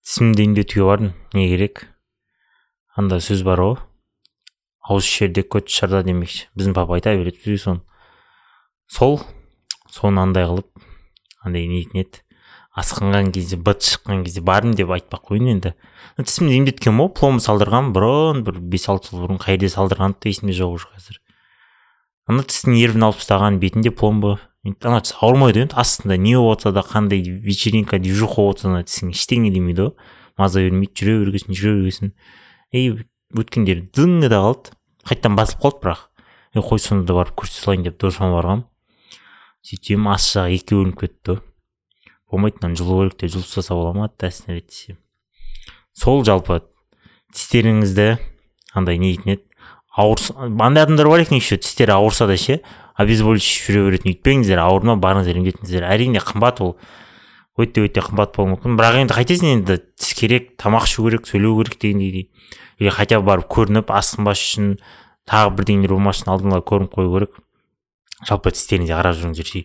Тісімді емдетуге бардым. Не керек? Анда сөз бар ғой. Ауыз ішерде көт шырда демекші. Біздің папа айта береді бізге соны. Соны андай қылып, андай нетін еді. Асқынған кезде, быт шыққан кезде бардым деп айтпақ қойын енді. Тісімді емдеткен мо, пломба салдырған бұрын, бір 5-6 жыл бұрын қайда салдырғанды да есімде жоқ уже қазір. Ана тістің нервін алып тастаған бетінде пломба. Ана тіс ауырмайды енді, астында не болып отса да, қандай вечеринка, движуха болып отса да тісің ештеңе демейді ғой. Маза бермейді, жүре бергесін. Өткендері дыңы да қалды. Қайттан басылып қалды бірақ. Қой сонда барып көрсете салайын деп досыма барғам. Сөйтсем ас жағы 2 бөлініп кетті. Болмайды, жылу керек деп жылып тастаса бола ма тәсіне ретсем. Сол жалпы тістеріңізді андай не дейтін еді. Андай адамдар бар екен еще тістері ауырса да ше, обезболивающий жүре беретін. Үйтпеңіздер, ауырма, барыңыздар емдетіңіздер. Әрине қымбат ол. Өте қымбат болуы мүмкін. Бірақ енді қайтесің, енді тіс керек, тамақ ішу керек, сөйлеу керек дегендей. Или хотя бы барып көрініп, асқынбас үшін тағы бірдеңелер болмас үшін алдыңға көрініп қою керек. Жалпы тістеріңізге қарап жүріңіздер.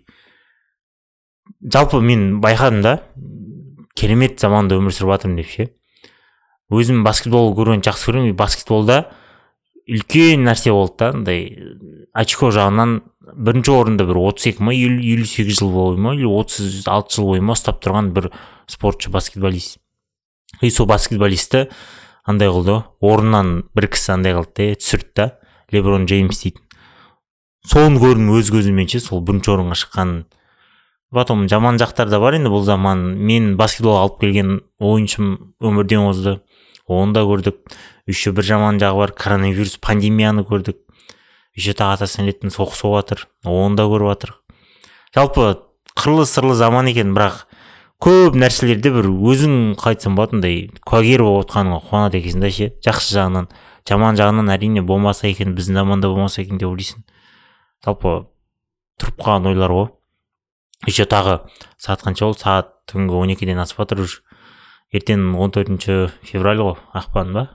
Жалпы мен байқадым да, керемет заманда өмір сүріп жатырмын деп ше. Өзім баскетбол көруін жақсы көремін. Баскетболда үлкен нәрсе болды да, андай очко жағынан бірінші орында бір 32 ма, 58 жыл бойы ма, или 36 жыл бойы ма ұстап тұрған бір спортшы, баскетболист. Сол баскетболисті андай қылды, орыннан бір кісі андай қылды, түсірді да, Леброн Джеймс дейтін. Соны көрдім өз көзімменше, сол бірінші орынға шыққан. Потом жаман жақтар да бар енді бұл заман. Мен баскетболға алып келген ойыншым өмірден озды. Оны да көрдік. Еще бір жаман жағы бар, коронавирус, пандемияны көрдік. Еще тағы атасынан леттің соғыс оғатыр. Оны да көріп атыр. Жалпы қырлы-сырлы заман екен, бірақ көп нәрселерде бір өзің қайтсам болатындай куәгер болып отқаныңа қуанады екенсің да ше. Жақсы жағынан, жаман жағынан әрине болмаса екен, біздің заманда болмаса екен деп ойлайсың. Жалпы тұрып қалған ойлар ғой. Еще тағы сағат қанша болды? Сағат түнгі 12-ден асып жатыр уже. Ертең 14 февраль ғой, ақпан ба?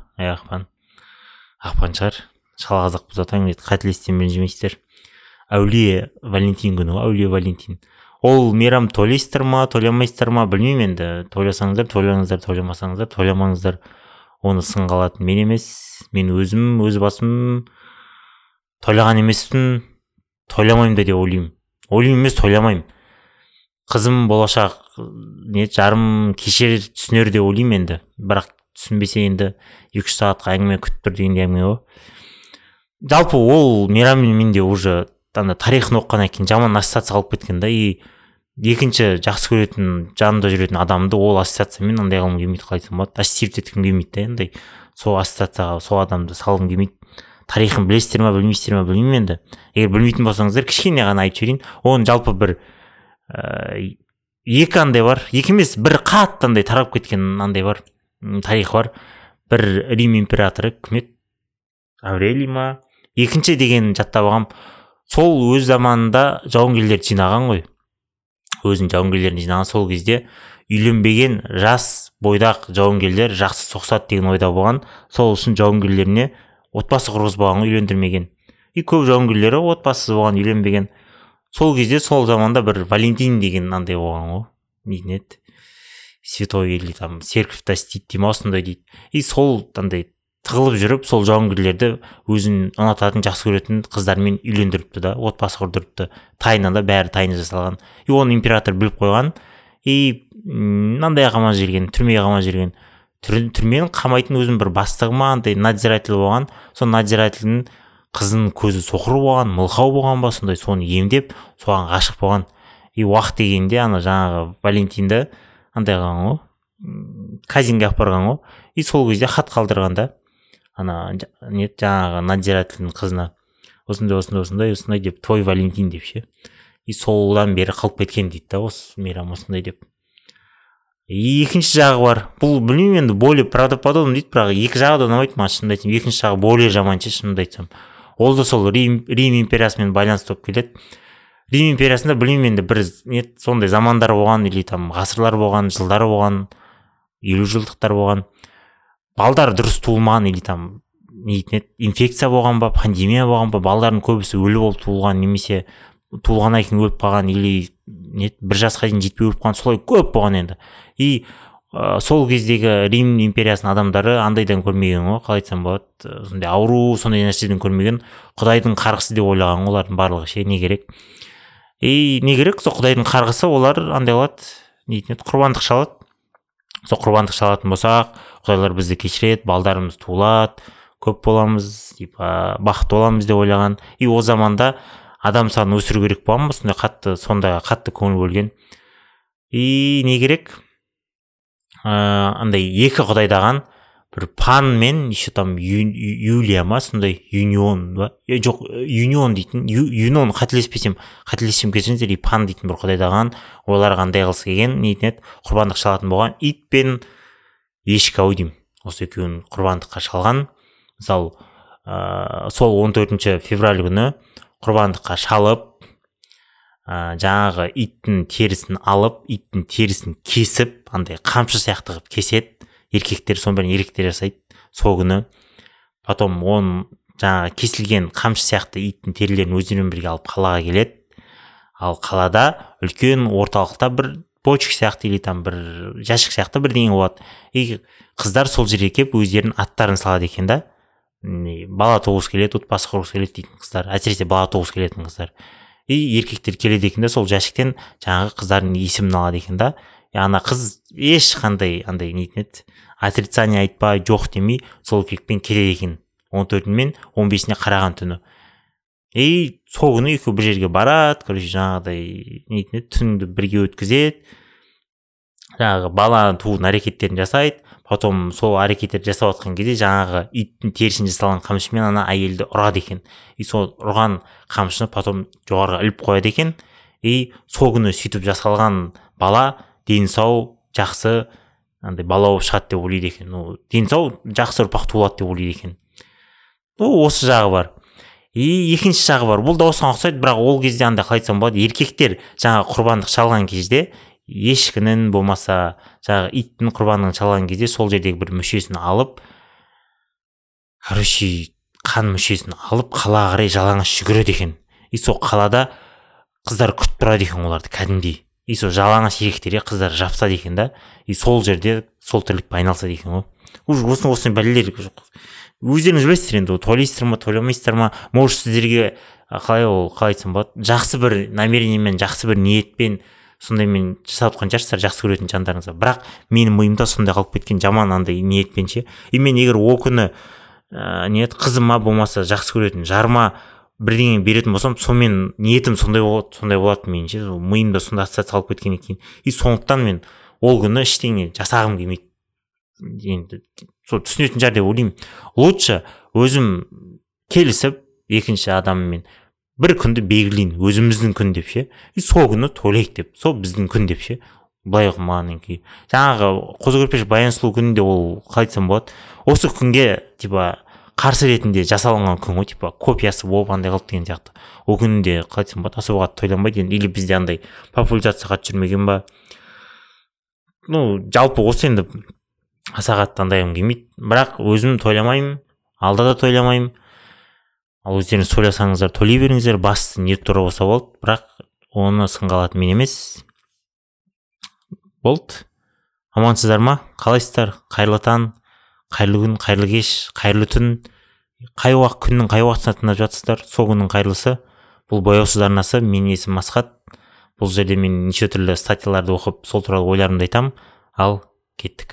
Ақпан шығар. Шала қазақ біз атаң деді, қателестен ренжімейсіздер. Әулие Валентин күні ғой, Әулие Валентин. Ол мейрам тойлайсыздар ма, тойламайсыздар ма, білмеймін енді. Тойласаңыздар, тойлаңыздар, тойламасаңыздар, тойламаңыздар. Оны сынға алатын мен емес. Мен өзім, өз басым тойлаған емеспін, тойламаймын да деп ойлаймын. Ойлаймын емес, тойламаймын. Қызым болашақ жарым кешер түсінер де ойлаймын енді. Бірақ түсінбесе енді 2 сағатқа әңгіме күтіп тұр дегенде әңгіме ғой. Жалпы ол мейраммен менде уже тарихын оққаннан кейін жаман ассоциация қалып кеткен да. Екінші жақсы көретін, жанында жүретін адамды ол ассоциациямен андай қылым келмейді, қалайтын болады. Ассоциировать еткім келмейді да енді. Сол ассоциацияға сол адамды салғым келмейді. Тарихын білесіздер ма, білмейсіздер ма, білмеймін енді. Егер білмейтін болсаңыздар, кішкене ғана айтып жіберейін. Оның жалпы бір екі андай бар, екі емес, бір қатты андай тарап кеткен андай бар, тарих бар. Бір Рим императоры, кім еді? Аврелий ма? Екінші деген жаттап алғам. Сол өз заманында жауынгерлерді жинаған ғой. Өзінің жауынгерлерін жинаған, сол кезде үйленбеген жас бойдақ жауынгерлер жақсы соқсат деген ойда болған. Сол үшін жауынгерлеріне отбасы құрғызбаған, үйлендірмеген. Көп жауынгерлері отбасыз болған, үйленбеген. Сол кезде сол заманда бір Валентин деген андай болған ғой. Нетін еді? Святой или там церковь тастит дейм, осындай дейді. Сол андай тығылып жүріп, сол жауынгерлерді өзін ұнататын, жақсы көретін қыздармен үйлендіріпті да, отбасы құрдырыпты. Тайнада бәрі тайны жасалған. Оны император біліп қойған. Мынандай қамап жүрген, түрмеге қамап жүрген. Түрменің қамайтын өзінің бір бастығы ма, андай надзиратель болған. Сол надзирательдің қызының көзі соқыр болған, мылқау болған ба, сондай соны емдеп, соған ғашық болған. Уақыт дегенде ана жаңағы Валентинді андай қылған ғой, казинге апарған ғой. Сол кезде хат қалдырғанда ана жаңағы надзирательдің қызына осындай деп, твой Валентин деп ше. Солдан бері қалып кеткен дейді да, осы мейрам осындай деп. Екінші жағы бар. Бұл білмеймін енді, более правдоподобно дейді, бірақ екі жағы да ұнамайды маған, шынымды айтсам. Екінші жағы более жаман ше, шынымды айтсам. Ол да сол Рим империясымен байланысты болып келеді. Рим империясында білмеймін енді, бір сондай замандар болған, или там ғасырлар болған, жылдар болған, 50 жылдықтар болған. Балдар дұрыс туылмаған, или там инфекция болған ба, пандемия болған ба, балдардың көбісі өлі болып туылған, немесе туылғаннан кейін өліп қалған, или бір жасқа дейін жетпей өліп қалған, солай көп болған енді. сол кездегі Рим империясының адамдары андайдан көрмеген ғой, қалай айтсам болады, сондай ауру, сондай нәрседен көрмеген, Құдайдың қарғысы деп ойлаған олардың барлығы ше. Не керек? Не керек? Сол Құдайдың қарғысы, олар андай қылады, нейтін еді, құрбандық шалады. Сол құрбандық шалатын болсақ, Құдайлар бізді кешіреді, балдарымыз туылады, көп боламыз, бақытты боламыз деп ойлаған. О заманда адам санын өсіру керек болған ба, сондай қатты көңіл бөлген. Не керек? Андай екі құдайдаған бір Пан мен еще там Юлия ма, сондай Юнион ба? Жоқ, Юнион дейтін, Юнон, қателеспесем кешіріңіздер, Пан дейтін бір құдайдаған, олар қандай қылсы келген, нейтін еді, құрбандық шалатын болған. Ит пен ешкі ау деймін, осы екеуін құрбандыққа шалған. Мысалы, сол 14 февраль күні құрбандыққа шалып, жаңағы иттің терісін алып, иттің терісін кесіп, андай қамшы сияқты қылып кеседі. Еркектер, соның бәрін еркектер жасайды сол күні. Потом жаңағы кесілген қамшы сияқты иттің терілерін өздерімен бірге алып қалаға келеді. Ал қалада үлкен орталықта бір бочка сияқты или там бір жәшік сияқты бірдеңе болады. Қыздар сол жерге келіп өздерінің аттарын салады екен да. Бала туғысы келеді, отбасы құрғысы келеді дейтін қыздар, әсіресе бала туғысы келетін қыздар. Еркектер келеді екен да, сол жәшіктен жаңағы қыздардың есімін алады екен да. Ана қыз ешқандай андай нейтін еді, отрицание айтпай, жоқ демей, сол еркекпен келеді екен 14 мен 15-іне қараған түні. Сол күні екеуі бір жерге барады, короче, жаңағыдай нейтін еді, түнді бірге өткізеді, жаңағы бала туудың әрекеттерін жасайды. Потом сол әрекеттерді жасап отқан кезде жаңағы иттің терісін жасалған қамшымен ана әйелді ұрады екен. Сол ұрған қамшыны потом жоғарға іліп қояды екен. Сол күні сөйтіп жасалған бала дені сау, жақсы, андай бала болып шығады деп ойлайды екен. Дені сау, жақсы ұрпақ туылады деп ойлайды екен. Осы жағы бар. Екінші жағы бар. Бұл да осыған ұқсайды, бірақ ол кезде андай қалай айтсам болады, еркектер жаңағы құрбандық шалған кезде, ешкінің болмаса жаңағы иттің құрбандығын шалған кезде сол жердегі бір мүшесін алып, короче, қан мүшесін алып қалаға қарай жалаңаш жүгіреді екен. Сол қалада қыздар күтіп тұрады екен оларды кәдімгідей. Сол жалаңаш еркектерге қыздар жапсады екен да. Сол жерде сол тірлікпен айналысады екен ғой. Осыны бәлелер өздеріңіз білесіздер енді, тойлайсыздар ма, тойламайсыздар ма, может сіздерге қалай айтсам болады, жақсы бір намерениемен, жақсы бір ниетпен сондаймен жасап отқан шығарсыздар, жақсы көретін жандарыңызға. Бірақ менің миымда сондай қалып кеткен, жаман андай ниетпен ше. Мен егер о күні қызыма болмаса жақсы көретін жарыма бірдеңе беретін болсам, сонымен ниетім сондай болады мен ше. Миымда сондай ассоциация қалып кеткен екен. Сондықтан мен ол күні ештеңе жасағым келмейді. Енді сол түсінетін шығар деп ойлаймын. Лучше өзім келісіп екінші адаммен бір күнді белгілейін, өзіміздің күн деп ше. Сол күні тойлайық деп, сол біздің күн деп ше. Былай қылмағаннан кейін. Жаңағы қозы көрпеш баян сұлу күнінде ол қалай айтсам болады, осы күнге қарсы ретінде жасалынған күн ғой, копиясы болып андай қылып деген сияқты. Ол күнде қалай айтсам болады, особо қатты тойланбайды. Или бізде андай популяризация қатты жүрмеген ба. Жалпы осы енді аса қатты андайым келмейді. Бірақ өзім тойламаймын, алда да тойламаймын. Ал өздеріңіз тойласаңыздар тойлай беріңіздер, басты ниет тура болса болды. Бірақ оны сынға алатын мен емес. Болды. Амансыздар ма? Қалайсыздар? Қайырлы таң, қайырлы күн, қайырлы кеш, қайырлы түн. Күннің қай уақытысына тыңдап жатсыздар? Сол күннің қайырлысы. Бұл бояусыз арнасы. Менің есімім Асхат. Бұл жерде мен неше түрлі статьяларды оқып, сол туралы ойларымды айтамын. Ал кеттік.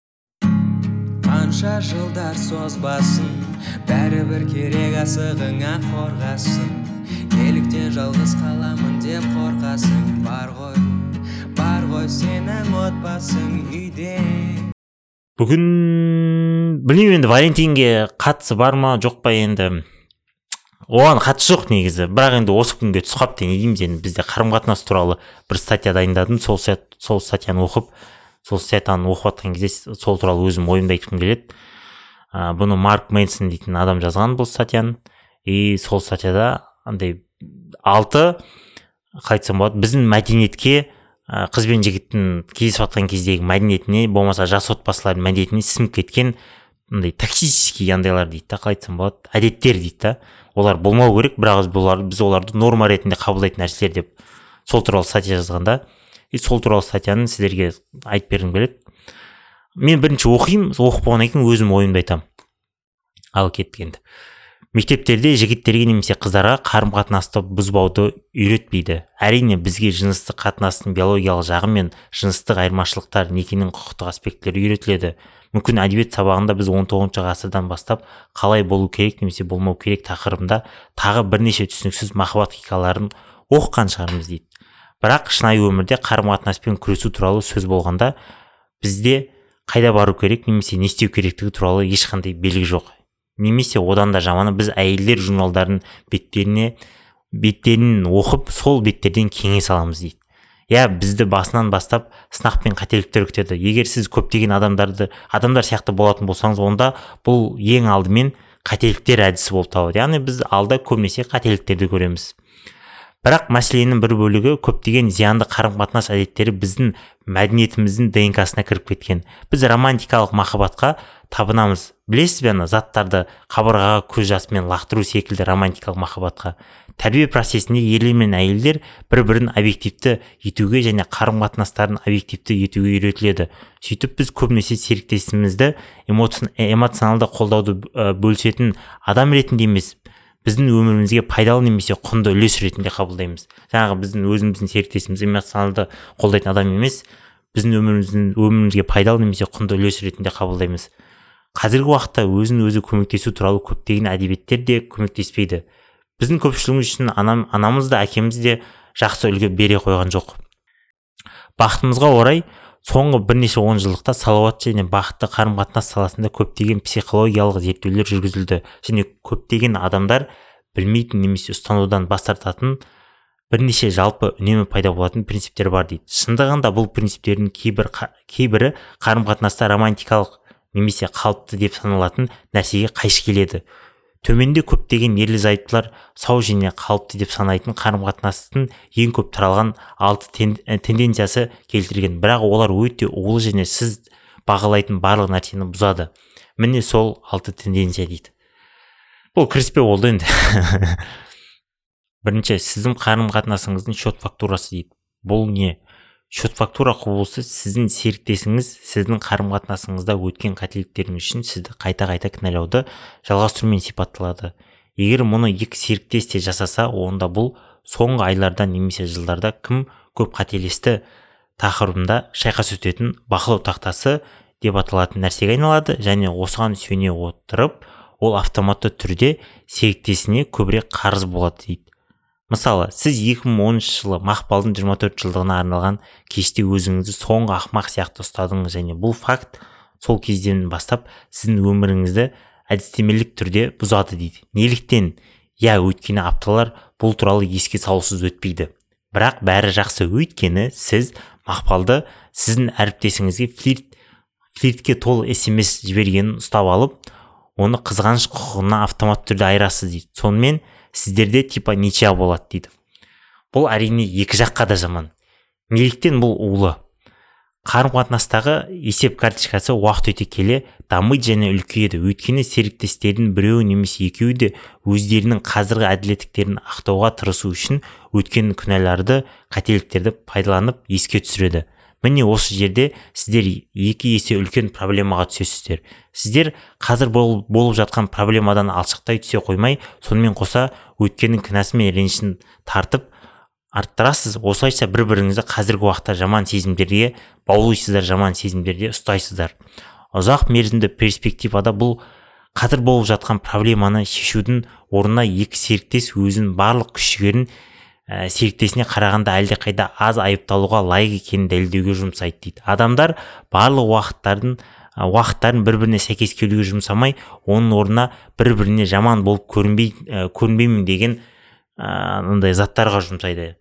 Қанша жылдар созбасын, бәрібір керек асығыңа қорғасын. Неліктен жалғыз қаламын деп қорқасың? Бар ғой сенің отбасың үйде. Бүгін білмеймін енді Валентинге қатысы бар ма, жоқ па енді. Оған қатысы жоқ негізі. Бірақ енді осы күнге түсіп не дейміз, енді бізде қарым-қатынас туралы бір статья дайындадым. Сол статьяны оқып, сол статьяны оқып жатқан кезде сол туралы өзім ойымды айтқым келеді. Бұны Марк Мэнсон дейтін адам жазған бұл статьяны. Сол статьяда андай 6 қайтсам болады, біздің мәдениетке қыз бен жігіттің кездесіп жатқан кездегі мәдениетіне, болмаса жас отбасылардың мәдениетіне сіңіп кеткен андай токсический андайлар дейді да, қалай айтсам болады, әдеттер дейді да. Олар болмау керек, бірақ біз оларды норма ретінде қабылдайтын нәрселер деп сол туралы статья жазғанда, сол туралы статьяны сіздерге айтып бергім келеді. мен бірінші оқимын, оқып болғаннан кейін өзім ойымды айтамын. Ал кеткенді. Мектептерде жігіттерге немесе қыздарға қарым-қатынасты бұзбауды үйретпейді. Әрине бізге жыныстық қатынастың биологиялық жағы мен жыныстық айырмашылықтар, некенің құқықтық аспектілері үйретіледі. Мүмкін әдебиет сабағында біз 19 ғасырдан бастап қалай болу керек немесе болмау керек тақырыбында тағы бірнеше түсініксіз махаббат хикаяларын оқыған шығармыз дейді. Бірақ шынайы өмірде қарым-қатынаспен күресу туралы сөз болғанда бізде қайда бару керек немесе не істеу керектігі туралы ешқандай белгі жоқ. Немесе одан да жаманы біз әйелдер журналдарын беттерін оқып, сол беттерден кеңес аламыз дейді. Бізді басынан бастап сынақ пен қателіктер күтеді. Егер сіз көптеген адамдар сияқты болатын болсаңыз, онда бұл ең алдымен қателіктер әдісі болып табылады. Яғни біз алда көбінесе қателіктерді көреміз. Бірақ мәселенің бір бөлігі көптеген зиянды қарым-қатынас әдеттері біздің мәдениетіміздің ДНК-сына кіріп кеткен. Біз романтикалық махаббатқа табынамыз. Білесіз бе, заттарды қабырғаға көз жасымен лақтыру секілді романтикалық махаббатқа. Тәрбие процесінде ерлер мен әйелдер бір-бірін объективті етуге және қарым-қатынастарын объективті етуге үйретіледі. Сөйтіп біз көбінесе серіктесімізді эмоционалды қолдауды бөлісетін адам ретінде емес, біздің өмірімізге пайдалы немесе құнды үлес ретінде қабылдаймыз. Жаңағы біздің өзіміздің серіктесіміз эмоционалды қолдайтын адам емес, біздің өмірімізге пайдалы немесе құнды үлес ретінде қабылдаймыз. Қазіргі уақытта өзін-өзі көмектесу туралы көптеген әдебиеттер де көмектеспейді. Біздің көпшілігіміз үшін анамыз да әкеміз де жақсы үлгі бере қойған жоқ. Бақытымызға орай, соңғы бірнеше онжылдықта салауатты және бақытты қарым-қатынас саласында көптеген психологиялық зерттеулер жүргізілді және көптеген адамдар білмейтін немесе ұстанудан бас тартатын бірнеше жалпы үнемі пайда болатын принциптер бар дейді. Шындығында бұл принциптердің кейбірі қарым-қатынаста романтикалық немесе қалыпты деп саналатын нәрсеге қайшы келеді. Төменде көптеген ерлі-зайыптылар сау және қалыпты деп санайтын қарым-қатынастың ең көп таралған 6 тенденциясы келтірген. Бірақ олар өте улы және сіз бағалайтын барлық нәрсені бұзады. Міне сол 6 тенденция дейді. Бұл кіріспе болды енді. Бірінші, сіздің қарым-қатынасыңыздың счет фактурасы дейді. Бұл не? Счет фактура құбылысы сіздің серіктесіңіз сіздің қарым-қатынасыңызда өткен қателіктеріңіз үшін сізді қайта-қайта кінәлауды жалғастырумен сипатталады. Егер мұны екі серіктес те жасаса, онда бұл соңғы айларда немесе жылдарда кім көп қателесті тақырыбында шайқас өтетін бақылау тақтасы деп аталатын нәрсеге айналады және осыған сүйене отырып, ол автоматты түрде серіктесіне көбірек қарыз болады дейді. Мысалы, сіз 2013 жылы мақпалдың 24 жылдығына арналған кеште өзіңізді соңғы ақмақ сияқты ұстадыңыз және бұл факт сол кезден бастап сіздің өміріңізді әдістемелік түрде бұзады дейді. Неліктен? Өйткені апталар бұл туралы еске салусыз өтпейді. Бірақ бәрі жақсы, өйткені сіз мақпалды сіздің әріптесіңізге флиртке толы SMS жібергенін ұстап алып, оны қызғаныш құқығына автомат түрде айырасыз дейді. Сонымен сіздерде типа ничья болады дейді. Бұл әрине екі жаққа да жаман. Неліктен бұл улы? Қарым-қатынастағы есеп карточкасы уақыт өте келе дамиды және үлкейеді. Өйткені серіктестердің біреуі немесе екеуі де өздерінің қазіргі әділеттіктерін ақтауға тырысу үшін өткен күнәларды, қателіктерді пайдаланып еске түсіреді. Міне осы жерде сіздер екі есе үлкен проблемаға түсесіздер. Сіздер қазір болып жатқан проблемадан алшақтай түсе қоймай, сонымен қоса өткеннің кінәсі мен ренішін тартып арттырасыз. Осылайша бір-біріңізді қазіргі уақытта жаман сезімдерге баулайсыздар, жаман сезімдерде ұстайсыздар. Ұзақ мерзімді перспективада бұл қазір болып жатқан проблеманы шешудің орнына екі серіктес өзінің барлық күш-жігерін серіктесіне қарағанда әлде қайда аз айыпталуға лайық екенін дәлелдеуге жұмсайды дейді. Адамдар барлық уақыттарын бір-біріне сәйкес келуге жұмсамай, оның орнына бір-біріне жаман болып көрінбеймін деген заттарға жұмсайды.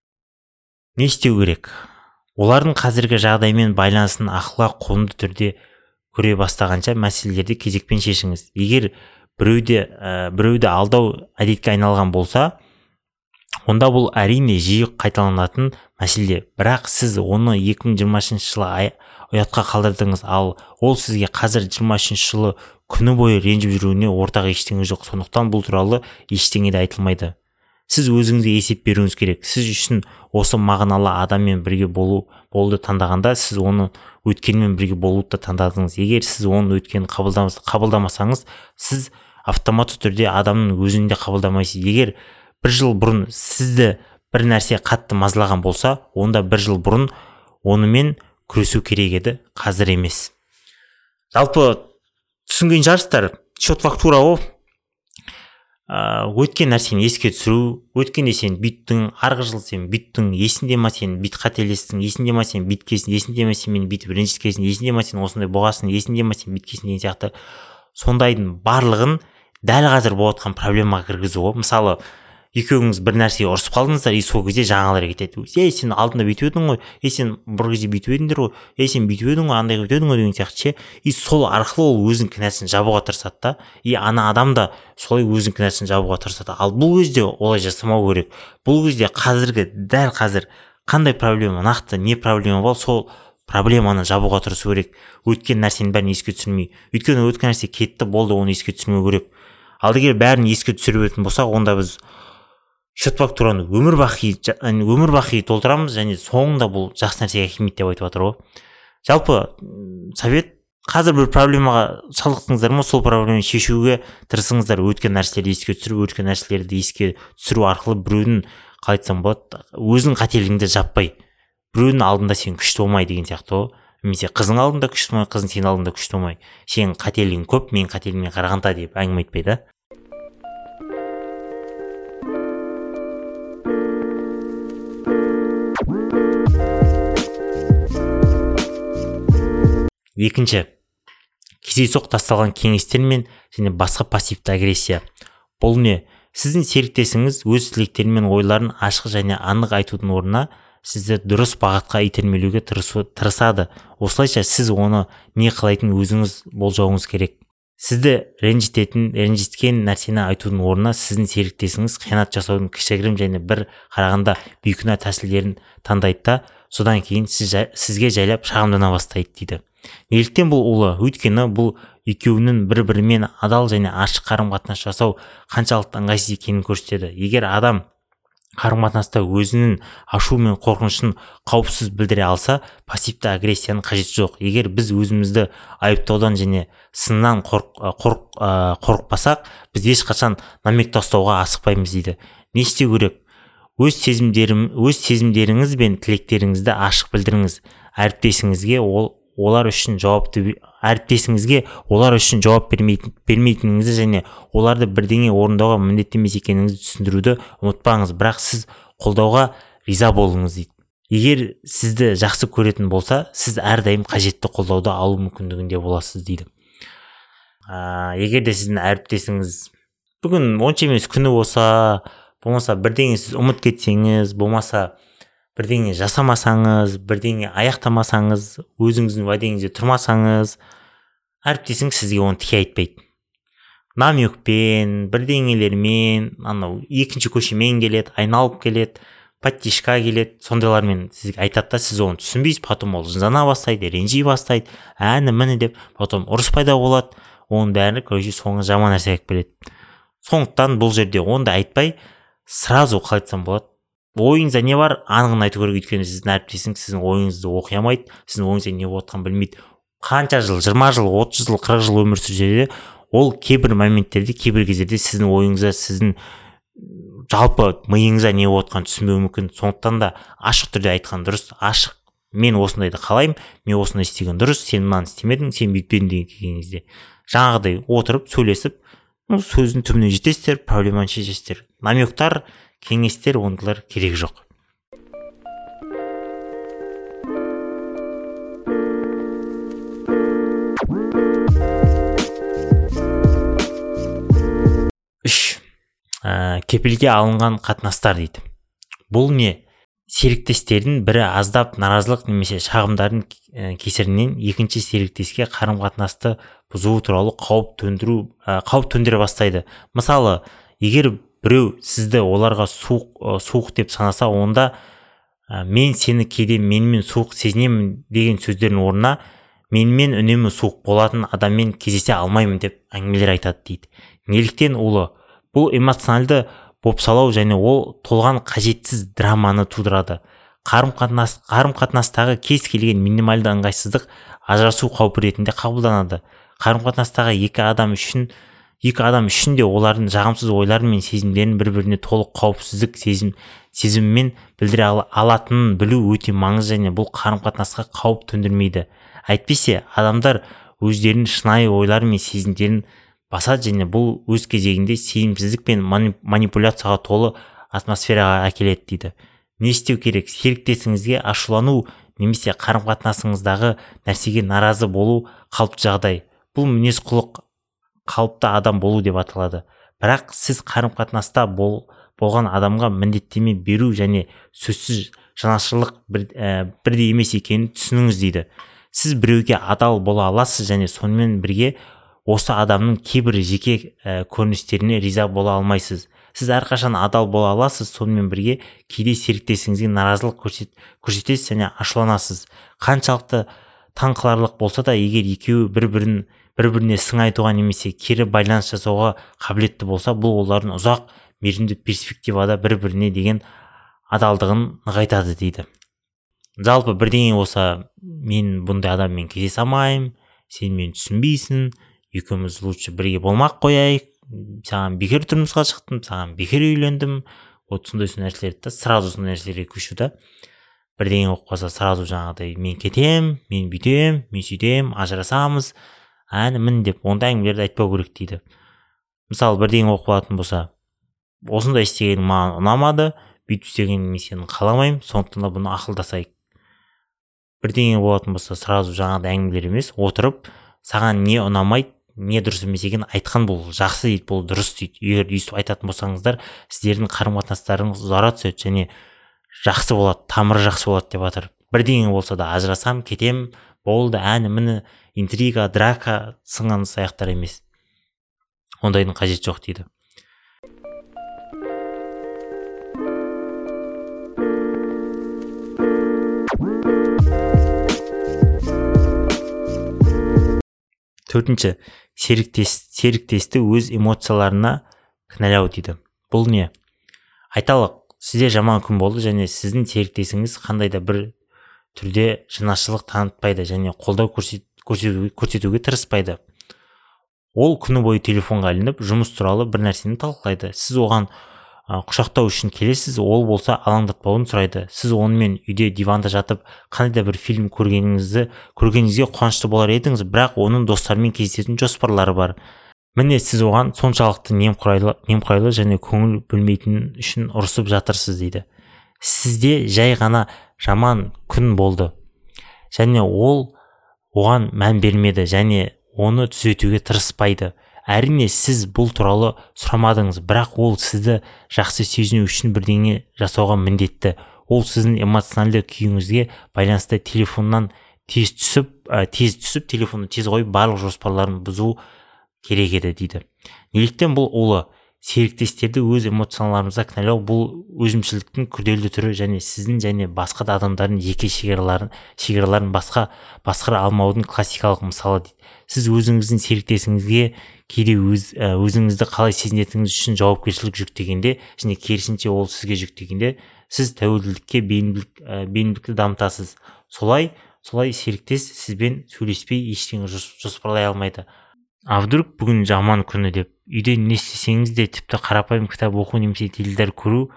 Не істеу керек? Олардың қазіргі жағдаймен байланысын ақылға қонымды түрде көре бастағанша мәселелерді кезекпен шешіңіз. Егер біреуді алдау әдетке айналған болса, онда бұл әрине жиі қайталанатын мәселе. Бірақ сіз оны 2020 жылы ұятқа қалдырдыңыз, ал ол сізге қазір 23 жылы күні бойы ренжіп жүруіне ортақ ештеңе жоқ. Сондықтан бұл туралы ештеңе де айтылмайды. сіз өзіңізге есеп беруіңіз керек. Сіз үшін осы мағыналы адаммен бірге болуды таңдағанда сіз оны өткенмен бірге болуды да таңдадыңыз. Егер сіз оны өткенін қабылдамасаңыз, сіз автоматты түрде адамның өзін де қабылдамайсыз. Егер бір жыл бұрын сізді бір нәрсе қатты мазалаған болса, онда бір жыл бұрын онымен күресу керек еді, қазір емес. Жалпы түсінген шығарсыздар, счет фактура ол өткен нәрсені еске түсіру. Өткенде сен бүйттің, арғы жыл сен бүйттің, есінде ма сен бүйт қателестің, есінде ма сен бүйткесің, есінде ма сен мені бүйтіп ренжіткесің, есінде ма сен осындай болғасын, есінде ма сен бүйткесің деген сияқты сондайдың барлығын дәл қазір болып жатқан проблемаға кіргізу ғой. Мысалы, екеуіңіз бір нәрсеге ұрысып қалдыңыздар, и сол кезде жаңалар кетеді. Сен алдында бүйтіп едің ғой, сен бір кезде бүйтіп едіңдер ғой, сен бүйтіп едің ғой, андай бүйтіп едің ғой деген сияқты ше. И сол арқылы ол өзінің кінәсін жабуға тырысады да. И ана адам да солай өзінің кінәсін жабуға тырысады. Ал бұл кезде олай жасамау керек. Бұл кезде дәл қазір қандай проблема, нақты не проблема бар, сол проблеманы жабуға тырысу керек. Өткен нәрсенің бәрін еске түсірмей. Өйткені өткен нәрсе кетті, болды, оны еске түсірмеу керек. Ал егер бәрін еске түсіретін болсақ, онда біз счет фактураны өмір бақи толтырамыз, және соңында бұл жақсы нәрсеге әкелмейді деп айтып жатыр ғой. Жалпы совет, қазір бір проблемаға шалдықтыңыздар ма, сол проблеманы шешуге тырысыңыздар. Өткен нәрселерді еске түсіру, өткен нәрселерді еске түсіру арқылы біреудің, қалай айтсам болады, өзің қателігіңді жаппай, біреудің алдында сен күшті болмай деген сияқты ғой. Немесе қызың алдында күшті болмай, қызың сенің алдында күшті болмай, сенің қателігің көп, менің қателігіме қарағанда деп әңгіме айтпайды. Екінші, кездейсоқ тасталған кеңестер мен және басқа пассивті агрессия. Бұл не? Сіздің серіктесіңіз өз тілектері мен ойларын ашық және анық айтудың орнына сізді дұрыс бағытқа итермелеуге тырысады. Осылайша сіз оны не қалайтын өзіңіз болжауыңыз керек. Сізді ренжіткен нәрсені айтудың орнына сіздің серіктесіңіз қиянат жасаудың кішігірім және бір қарағанда бейкүнә тәсілдерін таңдайды да, содан кейін сізге жайлап шағымдана бастайды дейді. Неліктен бұл ұлы? Өйткені бұл екеуінің бір-бірімен адал және ашық қарым-қатынас жасау қаншалықты ыңғайсыз екенін көрсетеді. Егер адам қарым-қатынаста өзінің ашу мен қорқынышын қауіпсіз білдіре алса, пассивті агрессияның қажеті жоқ. Егер біз өзімізді айыптаудан және сыннан қорықпасақ, біз ешқашан намек тастауға асықпаймыз дейді. Не істеу керек? Өз сезімдеріңіз бен тілектеріңізді ашық білдіріңіз. Әріптесіңізге олар үшін жауап бермейтініңізді және оларды бірдеңе орындауға міндетті емес екеніңізді түсіндіруді ұмытпаңыз, бірақ сіз қолдауға риза болыңыз дейді. Егер сізді жақсы көретін болса, сіз әрдайым қажетті қолдауды алу мүмкіндігінде боласыз дейді. Егер де сіздің әріптесіңіз бүгін онша емес күні болмаса бірдеңе сіз ұмыт кетсеңіз, болмаса бірдеңе жасамасаңыз, бірдеңе аяқтамасаңыз, өзіңіздің уәдеңізде тұрмасаңыз, әріптесіңіз сізге оны тіке айтпайды. Намекпен, бірдеңелермен, екінші көшемен келеді, айналып келеді, подтишка келеді, сондайлармен сізге айтады да, сіз оны түсінбейсіз, потом ол жынжана бастайды, ренжи бастайды, міне деп, потом ұрыс пайда болады, оның бәрі соңы жаман нәрсе алып келеді. Сондықтан бұл жерде онда айтпай, сразу қалай айтсам болады, ойыңызда не бар, анығын айту керек. Өйткені сіздің әріптесіңіз сіздің ойыңызды оқи алмайды, сіздің ойыңызда не болып жатқанын білмейді. Қанша жыл, 20 жыл, 30 жыл, 40 жыл өмір сүрсе де, ол кейбір моменттерде, кейбір кездерде сіздің ойыңызда, сіздің жалпы миыңызда не болып жатқанын түсінбеуі мүмкін. Сондықтан да ашық түрде айтқан дұрыс. Ашық, мен осындайды қалаймын, мен осындай істеген дұрыс, сен мынаны істемедің, сен бүйтпедің деген кезде жаңағыдай отырып сөйлесіп, сөздің түбіне жетесіздер, проблеманы шешесіздер. Намектар, кеңестер, ондайлар керек жоқ. Кепілге алынған қатынастар дейді. Бұл не? Серіктестердің бірі аздап наразылық немесе шағымдардың кесірінен екінші серіктеске қарым-қатынасты бұзуы туралы қауіп төндіре бастайды. Мысалы, егер біреу сізді оларға суық деп санаса, онда мен сені кейде менімен суық сезінемін деген сөздердің орнына менімен үнемі суық болатын адаммен кездесе алмаймын деп әңгімелер айтады дейді. Неліктен ұлы? Бұл эмоционалды бопсалау және ол толған қажетсіз драманы тудырады. Қарым-қатынастағы кез келген минималды ыңғайсыздық ажырасу қаупі ретінде қабылданады. Қарым-қатынастағы екі адам үшін де олардың жағымсыз ойлары мен сезімдерін бір-біріне толық қауіпсіздік сезіммен білдіре алатынын білу өте маңызды және бұл қарым-қатынасқа қауіп төндірмейді. Әйтпесе, адамдар өздерінің шынайы ойлары мен сезімдерін басады және бұл өз кезегінде сенімсіздік пен манипуляцияға толы атмосфераға әкеледі дейді. Не істеу керек? Серіктесіңізге ашулану немесе қарым-қатынасыңыздағы нәрсеге наразы болу қалыпты жағдай. Бұл мінез-құлық қалыпты адам болу деп аталады. Бірақ сіз қарым-қатынаста болған адамға міндеттеме беру және сөзсіз жанашырлық бірдей емес екенін түсініңіз дейді. Сіз біреуге адал бола аласыз және сонымен бірге осы адамның кейбір жеке көріністеріне риза бола алмайсыз. Сіз әрқашан адал бола аласыз, сонымен бірге кейде серіктесіңізге наразылық көрсетесіз және ашуланасыз. Қаншалықты таңқаларлық болса да, егер екеуі бір-біріне сын айтуға немесе кері байланыс жасауға қабілетті болса, бұл олардың ұзақ мерзімді перспективада бір-біріне деген адалдығын нығайтады дейді. Жалпы бірдеңе болса, мен бұндай адаммен кездесе алмаймын, сен мені түсінбейсің, екеуміз лучше бірге болмақ қояйық, саған бекер тұрмысқа шықтым, саған бекер үйлендім, сондай нәрселерді сразу сондай нәрселерге көшуді. Бірдеңе болып қалса сразу жаңағыдай мен кетем, мен бүйтем, мен сөйтем, ажырасамыз, мін деп ондай әңгімелерді айтпау керек дейді. Мысалы, бірдеңе болып қалатын болса, осындай істегенің маған ұнамады, бүйтіп істегенін мен сені қаламаймын, сондықтан да бұны ақылдасайық. Бірдеңе болатын болса, сразу жаңағыдай әңгімелер емес, отырып, саған не ұнамайды, не дұрыс емес екенін айтқан бұл жақсы дейді, бұл дұрыс дейді. Егер өйстіп айтатын болсаңыздар, сіздердің қарым-қатынастарыңыз ұзара түседі және жақсы болады, тамыры жақсы болады деп жатыр. Бірдеңе болса да ажырасам, кетем, болды, міне интрига, драка сынған аяқтар емес. Ондайдың қажет жоқ дейді. Төртінші, серіктесті өз эмоцияларына кінәлау дейді. Бұл не? Айталық, сізде жаман күн болды және сіздің серіктесіңіз қандай да бір түрде жанашырлық танытпайды және қолдау көрсетуге тырыспайды. Ол күні бойы телефонға ілініп, жұмыс туралы бір нәрсені талқылайды. Сіз оған құшақтау үшін келесіз, ол болса алаңдатпауын сұрайды. Сіз онымен үйде диванда жатып, қандай да бір фильм көргеніңізге қуанышты болар едіңіз, бірақ оның достарымен кездесетін жоспарлары бар. Міне сіз оған соншалықты немқұрайлы және көңіл бөлмейтін үшін ұрысып жатырсыз дейді. Сізде жай ғана жаман күн болды және ол оған мән бермеді және оны түзетуге тырыспайды. Әрине сіз бұл туралы сұрамадыңыз, бірақ ол сізді жақсы сезіну үшін бірдеңе жасауға міндетті. Ол сіздің эмоционалды күйіңізге байланысты телефоннан тез түсіп, телефонды тез қойып, барлық жоспарларын бұзу керек еді дейді. Неліктен бұл олы? Серіктестерді өз эмоцияларымызға кінәлау бұл өзімшілдіктің күрделі түрі және сіздің және басқа да адамдардың жеке шекараларын басқара алмаудың классикалық мысалы дейді. Сіз өзіңіздің серіктесіңізге кейде өзіңізді қалай сезінетініңіз үшін жауапкершілік жүктегенде және керісінше ол сізге жүктегенде сіз тәуелділікке бейімділікті дамытасыз. Солай серіктес сізбен сөйлеспей ештеңе жоспарлай алмайды. Вдруг бүгін жаман күні деп үйде не істесеңіз де тіпті қарапайым кітап оқу немесе теледидар көру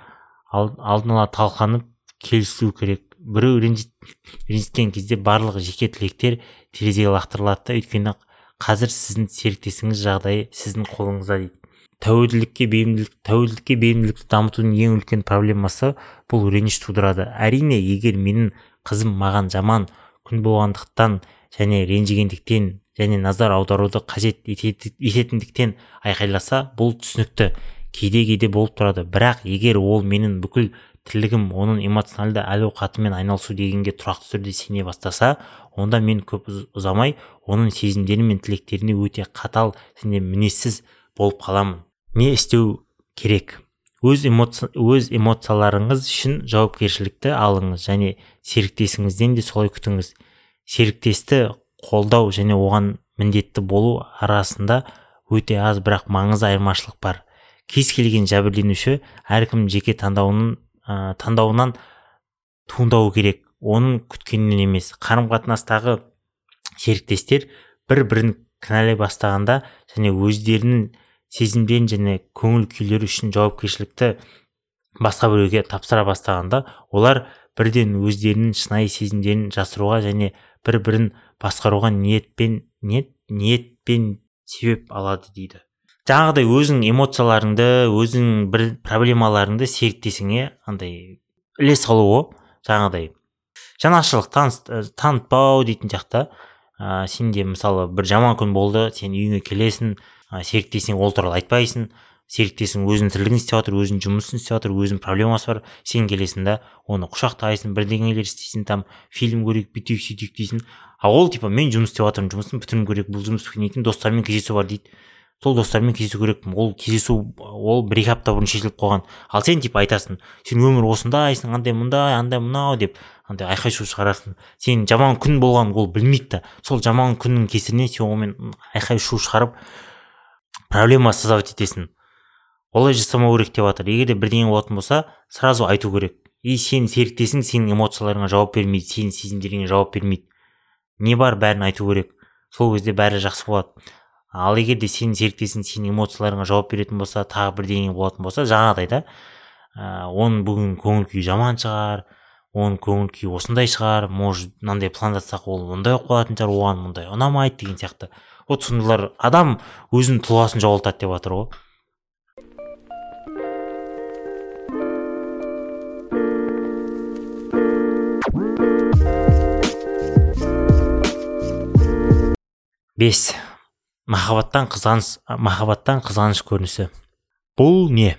алдын ала талқыланып келісілу керек. Біреу ренжіткен кезде барлық жеке тілектер терезеге лақтырылады, өйткені қазір сіздің серіктесіңіз жағдайы сіздің қолыңызда дейді. Тәуелділікке бейімділікті дамытудың ең үлкен проблемасы бұл реніш тудырады. Әрине, егер менің қызым маған жаман күн болғандықтан және ренжігендіктен және назар аударуды қажет ететіндіктен айқайласа, бұл түсінікті. Кейде болып тұрады. Бірақ егер ол менің бүкіл тірлігім оның эмоционалды әл-ауқатымен айналысу дегенге тұрақты түрде сене бастаса, онда мен көп ұзамай оның сезімдері мен тілектеріне өте қатал және мінезсіз болып қаламын. Не істеу керек? Өз эмоцияларыңыз үшін жауапкершілікті алыңыз және серіктесіңізден де солай күтіңіз. Серіктесті қолдау және оған міндетті болу арасында өте аз бірақ маңызды айырмашылық бар. кез келген жәбірленуші әркім жеке таңдауынан туындауы керек, оның күткенінен емес. Қарым-қатынастағы серіктестер бір-бірін кінәлай бастағанда және өздерінің сезімдерін және көңіл күйлері үшін жауапкершілікті басқа біреуге тапсыра бастағанда, олар бірден өздерінің шынайы сезімдерін жасыруға және бір-бірін басқаруға ниетпен себеп алады дейді. Жаңағыдай өзің эмоцияларыңды, өзің бір проблемаларыңды серіктесіңе андай іле салуы, жаңағыдай жанашырлық танытпау дейтін жақта. Сенде мысалы бір жаман күн болды, сен үйіңе келесің, серіктесің ол туралы айтпайсың, серіктесің өзінің тірлігін істеп жатыр, өзінің жұмысын істеп жатыр, өзінің проблемасы бар, сен келесің да оны құшақтайсың, бірдеңелер істейсің, там фильм көрейік, бүйтейік, сөйтейік дейсің. Ол мен жұмыс істеп жатырмын, жұмысын бітіруім керек, бұл жұмыс біткен екен, достармен кездесу бар дейді. Сол достармен кездесу керекпін, ол кездесу ол 1-2 апта бұрын шешіліп қойған. Ал сен айтасың, сен өмір осындайсың, андай мұндай, андай мынау деп андай айқай шу шығарасың. Сен жаман күн болған ол білмейді да. Сол жаман күннің кесірінен сен онымен айқай шу шығарып проблема создавать етесің. Олай жасамау керек деп жатыр. Егер де бірдеңе болатын болса, сразу айту керек. Сен серіктесің, сенің эмоцияларыңа жауап бермейді, сенің сезімдеріңе жауап бермейді. Не бар, бәрін айту керек. Сол кезде бәрі жақсы болады. Ал егер де сенің серіктесің сенің эмоцияларыңа жауап беретін болса, тағы бірдеңе болатын болса, жаңағыдай да, оның бүгін көңіл күйі жаман шығар, оның көңіл күйі осындай шығар, может мынандай пландасақ ол ондай болып қалатын шығар, оған мұндай ұнамайды деген сияқты. Вот сондайлар адам өзінің тұлғасын жоғалтады деп жатыр ғой. Бес. Махаббаттан қызғаныш көрінісі. Бұл не?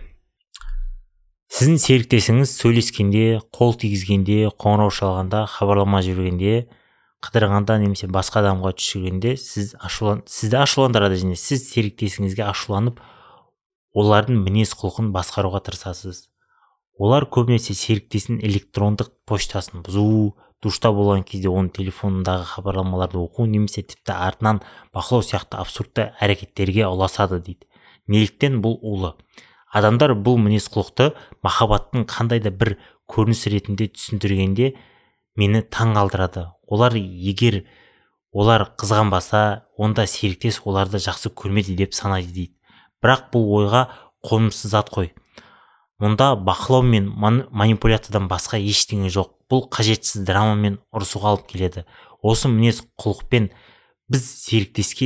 Сіздің серіктесіңіз сөйлескенде, қол тигізгенде, қоңырау шалғанда, хабарлама жібергенде, қыдырғанда немесе басқа адамға түсіргенде сізді ашуландырады және сіз серіктесіңізге ашуланып, олардың мінез құлқын басқаруға тырысасыз. Олар көбінесе серіктесінің электрондық поштасын бұзу, душта болған кезде оның телефонындағы хабарламаларды оқу немесе тіпті артынан бақылау сияқты абсурдты әрекеттерге ұласады дейді. Неліктен бұл улы? Адамдар бұл мінез құлықты махаббаттың қандай да бір көрініс ретінде түсіндіргенде мені таң қалдырады. Егер олар қызғанбаса, онда серіктес оларды жақсы көрмеді деп санайды дейді. Бірақ бұл ойға қонымсыз зат қой. Мұнда бақылау мен манипуляциядан басқа ештеңе жоқ. Бұл қажетсіз драма мен ұрысуға алып келеді. Осы мінез құлықпен біз серіктеске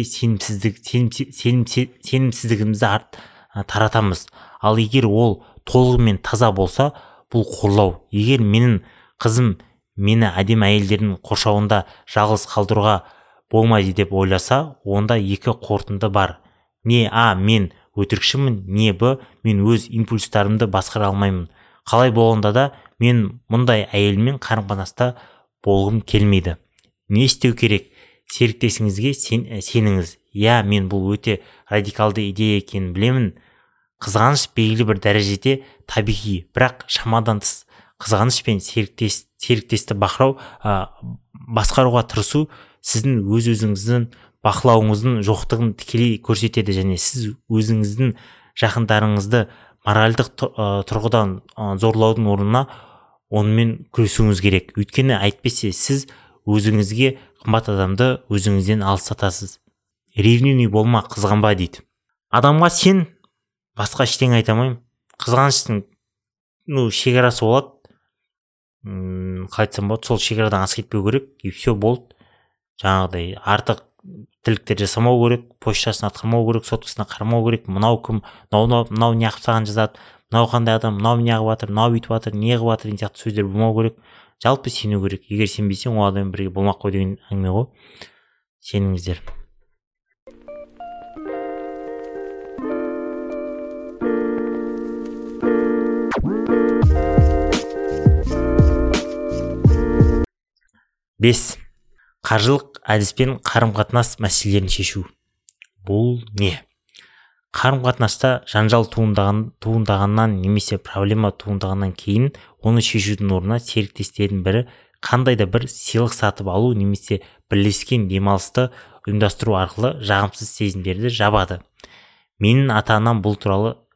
сенімсіздігімізді таратамыз. Ал егер ол толығымен таза болса, бұл қорлау. Егер менің қызым мені әдемі әйелдердің қоршауында жалғыз қалдыруға болмайды деп ойласа, онда екі қорытынды бар. Не мен өтірікшімін, не мен өз импульстарымды басқара алмаймын. Қалай болғанда да мен мұндай әйелмен қарым-қатынаста болғым келмейді. Не істеу керек? Серіктесіңізге сеніңіз. Мен бұл өте радикалды идея екенін білемін. Қызғаныш белгілі бір дәрежеде табиғи, бірақ шамадан тыс қызғаныш пен серіктесті басқаруға тырысу сіздің өз-өзіңіздің бақылауыңыздың жоқтығын тікелей көрсетеді және сіз өзіңіздің жақындарыңызды моральдық тұрғыдан зорлаудың орнына онымен күресуіңіз керек. Өйткені әйтпесе сіз өзіңізге қымбат адамды өзіңізден алыстатасыз. Ревнивный болма, қызғанба дейді. Адамға сен басқа ештеңе айта алмаймын. Қызғаныштың шекарасы болады. Қалай айтсам болады, сол шекарадан асып кетпеу керек, и все болды. Жаңағыдай артық тірліктер жасамау керек, почтасын атқармау керек, соткасына қарамау керек. Мынау кім, мынау не қылып саған жазады, мынау қандай адам, мынау не қылып жатыр, мынау бүйтіп жатыр, не қылып жатыр деген сияқты сөздер болмау керек. Жалпы сену керек. Егер сенбесең, ол адаммен бірге болмақ қой деген әңгіме ғой. Сеніңіздер. Бес. Қаржылық әдіспен қарым-қатынас мәселелерін шешу. Бұл не? Қарым-қатынаста жанжал туындағаннан немесе проблема туындағаннан кейін оны шешудің орнына серіктестердің бірі қандай да бір сыйлық сатып алу немесе бірлескен демалысты ұйымдастыру арқылы жағымсыз сезімдерді жабады. Менің ата-анам бұл туралы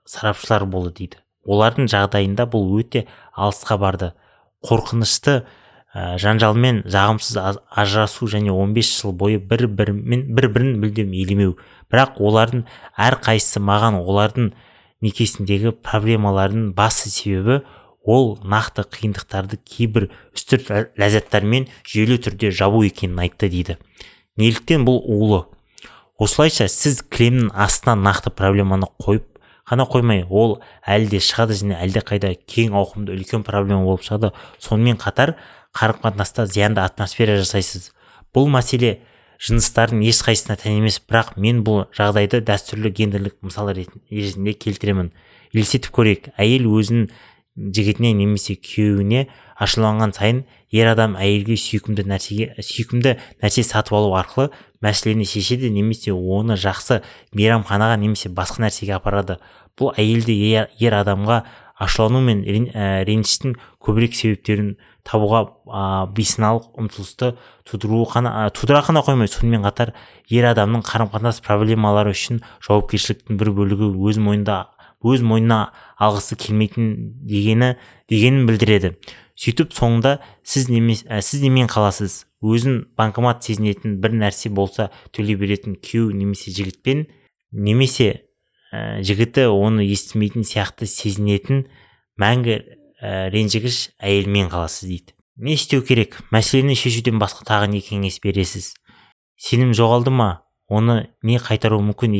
сарапшылар болды дейді. Олардың жағдайында бұл өте алысқа барды. Қорқынышты жанжалмен жағымсыз ажырасу және 15 жыл бойы бір-бірін мүлдем елемеу. Бірақ олардың әрқайсысы маған олардың некесіндегі проблемалардың басты себебі ол нақты қиындықтарды кейбір үстірт ләззаттармен жүйелі түрде жабу екенін айтты дейді. Неліктен бұл улы? Осылайша сіз кілемнің астынан нақты проблеманы қойып қана қоймай, ол әлде шығады және әлде қайда кең ауқымды үлкен проблема болып шығады. Сонымен қатар қарым-қатынаста зиянды атмосфера жасайсыз. Бұл мәселе жыныстардың ешқайсысына тән емес, бірақ мен бұл жағдайды дәстүрлі гендерлік мысал ретінде келтіремін. Елестетіп көрейік, әйел өзінің жігітіне немесе күйеуіне ашуланған сайын ер адам әйелге сүйкімді нәрсе сатып алу арқылы мәселені шешеді немесе оны жақсы мейрамханаға немесе басқа нәрсеге апарады. Бұл әйелді ер адамға ашулану мен реніштің көбірек себептерін табуға бейсаналық ұмтылысты тудыра қана қоймай, сонымен қатар ер адамның қарым-қатынас проблемалары үшін жауапкершіліктің бір бөлігі өз мойнына алғысы келмейтін дегенін білдіреді. Сөйтіп соңында сіз немен қаласыз? Өзін банкомат сезінетін бір нәрсе болса төлей беретін күйеу немесе жігітпен, немесе жігіті оны естімейтін сияқты сезінетін мәңгі ренжігіш әйелмен қаласыз дейді. Не істеу керек? Мәселені шешуден басқа тағы не кеңес бересіз? Сенім жоғалды ма? Оны не қайтару мүмкін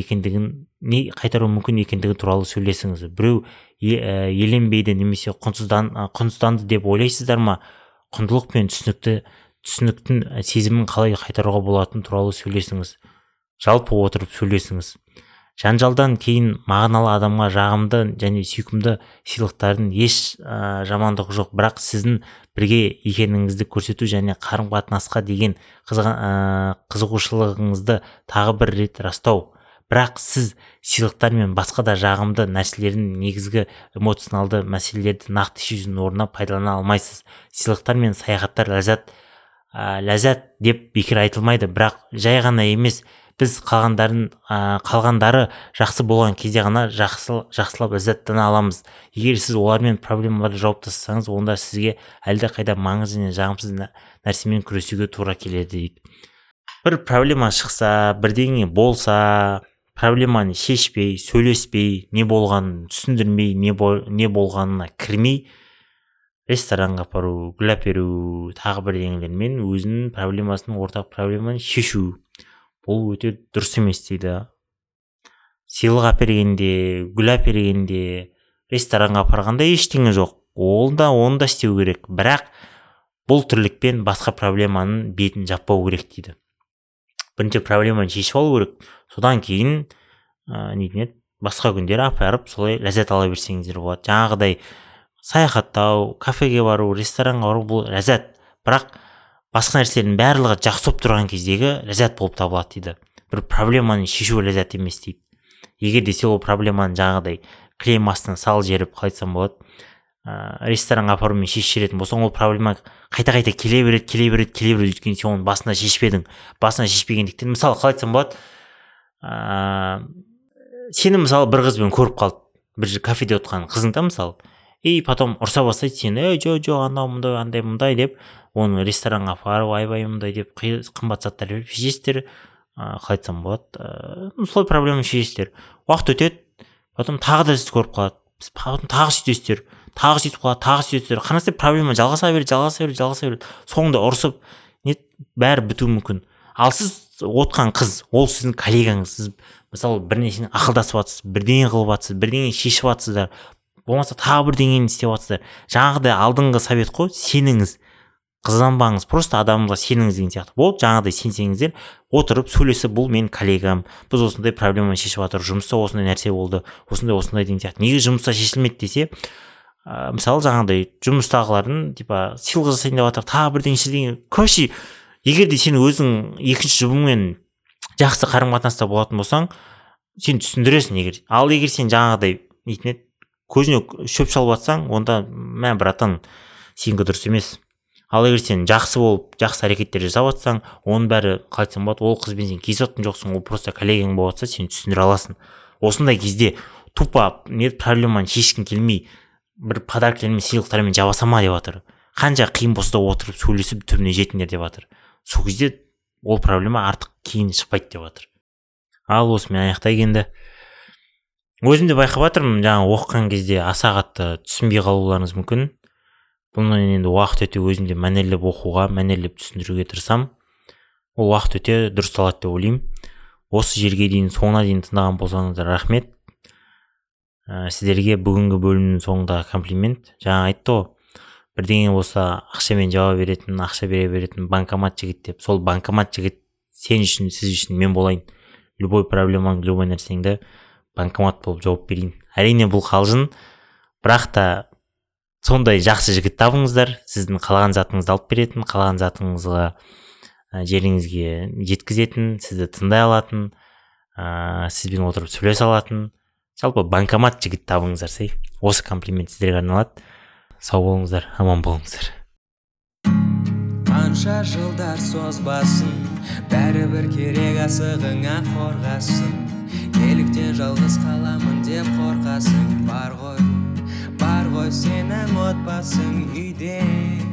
екендігі туралы сөйлесіңіз. Біреу еленбейді немесе құнсызданды деп ойлайсыздар ма? Құндылық пен түсініктің сезімін қалай қайтаруға болатыны туралы сөйлесіңіз. Жалпы отырып сөйлесіңіз. Жанжалдан кейін мағыналы адамға жағымды және сүйкімді сыйлықтардың еш жамандығы жоқ, бірақ сіздің бірге екеніңізді көрсету және қарым-қатынасқа деген қызығушылығыңызды тағы бір рет растау. Бірақ сіз сыйлықтар мен басқа да жағымды нәрселердің негізгі эмоционалды мәселелерді нақты шешудің орнына пайдалана алмайсыз. Сыйлықтар мен саяхаттар ләззат деп бекер айтылмайды, бірақ жай ғана емес, біз қалғандары жақсы болған кезде ғана жақсылап ләззаттана аламыз. Егер сіз олармен проблемаларды жауып тастасаңыз, онда сізге әлде қайда маңызды және жағымсыз нәрсемен күресуге тура келеді дейді. Бір проблема шықса, бірдеңе болса, проблеманы шешпей, сөйлеспей, не болғанын түсіндірмей, не болғанына кірмей, ресторанға апару, гүл әперу, тағы бірдеңелермен өзінің проблемасын, ортақ проблеманы шешу. Бұл өте дұрыс емес дейді. Сыйлық әпергенде, гүл әпергенде, ресторанға апарғанда ештеңе жоқ. Оны да істеу керек. Бірақ бұл тірлікпен басқа проблеманың бетін жаппау керек дейді. Бірінші проблеманы шешіп алу керек. Содан кейін басқа күндері апарып солай ләззат ала берсеңіздер болады. Жаңағыдай саяхаттау, кафеге бару, ресторанға бару бұл ләззат. Бірақ басқа нәрселердің барлығы жақсы болып тұрған кездегі ләззат болып табылады дейді. Бір проблеманы шешу ләззат емес дейді. Егер де сен ол проблеманы жаңағыдай кілем астына сал жеріп қалайтсам болады, ресторанға апарумен шешіп жіберетін болсаң, ол проблема қайта келе береді, өйткені сен оны басында шешпедің. Басында шешпегендіктен, мысалы қалайтсам болады, сені мысалы бір қызбен көріп қалды, бір кафеде отырған қызыңда мысалы, и потом ұрса бастайды сені, жоқ, анау мұндай деп, оны ресторанға апарып, айбай мұндай деп қымбат заттар беріп шешесіздер, қалайтсам болады, солай проблеманы шешесіздер. Уақыт өтеді, потом тағы да сізді көріп қалады, тағы сөйтесіздер, тағы сөйтіп қалады, тағы сөйтесіздер. Қараңыздар, проблема жалғаса береді. Соңында ұрысып, бәрі бітуі мүмкін. Ал сіз отқан қыз, ол сіздің коллегаңыз, сіз мысалы бірнешені ақылдасып жатсыз, бірдеңе қылып жатсыз, бірдеңе шешіп жатсыздар, болмаса тағы бірдеңені істеп жатсыздар. Жаңағыдай алдыңғы совет қой, сеніңіз, қызданбаңыз, просто адамға сеніңіз деген сияқты. Болды, жаңағыдай сенсеңіздер, отырып сөйлесіп, бұл мен коллегам, біз осындай проблеманы шешіп жатыр, жұмыста осындай нәрсе болды, осындай деген сияқты. Неге жұмыста шешілмеді десе, мысалы жаңағыдай жұмыстағылардың сыйлық жасайын деп жатыр, тағы бірдеңе. Короче, егер де сен өзің екінші жұбыңмен жақсы қарым-қатынаста болатын болсаң, сен түсіндіресің. Ал егер сен жаңағыдай көзіне шөп шалып жатсаң, онда братан, сенікі дұрыс емес. Ал егер сен жақсы болып, жақсы әрекеттер жасап жатсаң, оның бәрі қалайтсам болады, ол қызбен сен кездесіп жатқан жоқсың, ол просто коллегаң болып жатса, сен түсіндіре аласың. Осындай кезде тупо проблеманы шешкің келмей бір подаркалармен сыйлықтармен жаба сама деп жатыр. Қанша қиын болса да отырып сөйлесіп түбіне жетіңдер деп жатыр. Сол кезде ол проблема артық кейін шықпайды деп жатыр. Ал осымен аяқтай келді. Өзім де байқап жатырмын, жаңа оқыған кезде аса қатты түсінбей қалуларыңыз мүмкін. Бұны енді уақыт өте өзім де мәнерлеп оқуға, мәнерлеп түсіндіруге тырысам. Ол уақыт өте дұрыс алады деп ойлаймын. Осы жерге дейін соңына дейін тыңдаған болсаңыздар рахмет. Сіздерге бүгінгі бөлімнің соңында комплимент. Жаңа айтты ғой, бірдеңе болса ақшамен жауап беретін, ақша бере беретін банкомат жігіт деп. Сол банкомат жігіт сен үшін, сіз үшін мен болайын. Любой проблемаң, любой нәрсеңді банкомат болып жауап берейін. Әрине бұл қалжың, бірақ та сондай жақсы жігіт табыңыздар. Сіздің қалаған затыңызды алып беретін, қалаған затыңызға жеріңізге жеткізетін, сізді тыңдай алатын, сізбен отырып сөйлесе алатын. Жалпы банкомат жігіт табыңыздар. Осы комплимент сіздерге арналады. Сау болыңыздар, аман болыңыздар. Қанша жылдар созбасын, бәрібір керек асығыңа қорғасын. Неліктен жалғыз қаламын деп қорқасың. Бар ғой сенің отбасың үйде.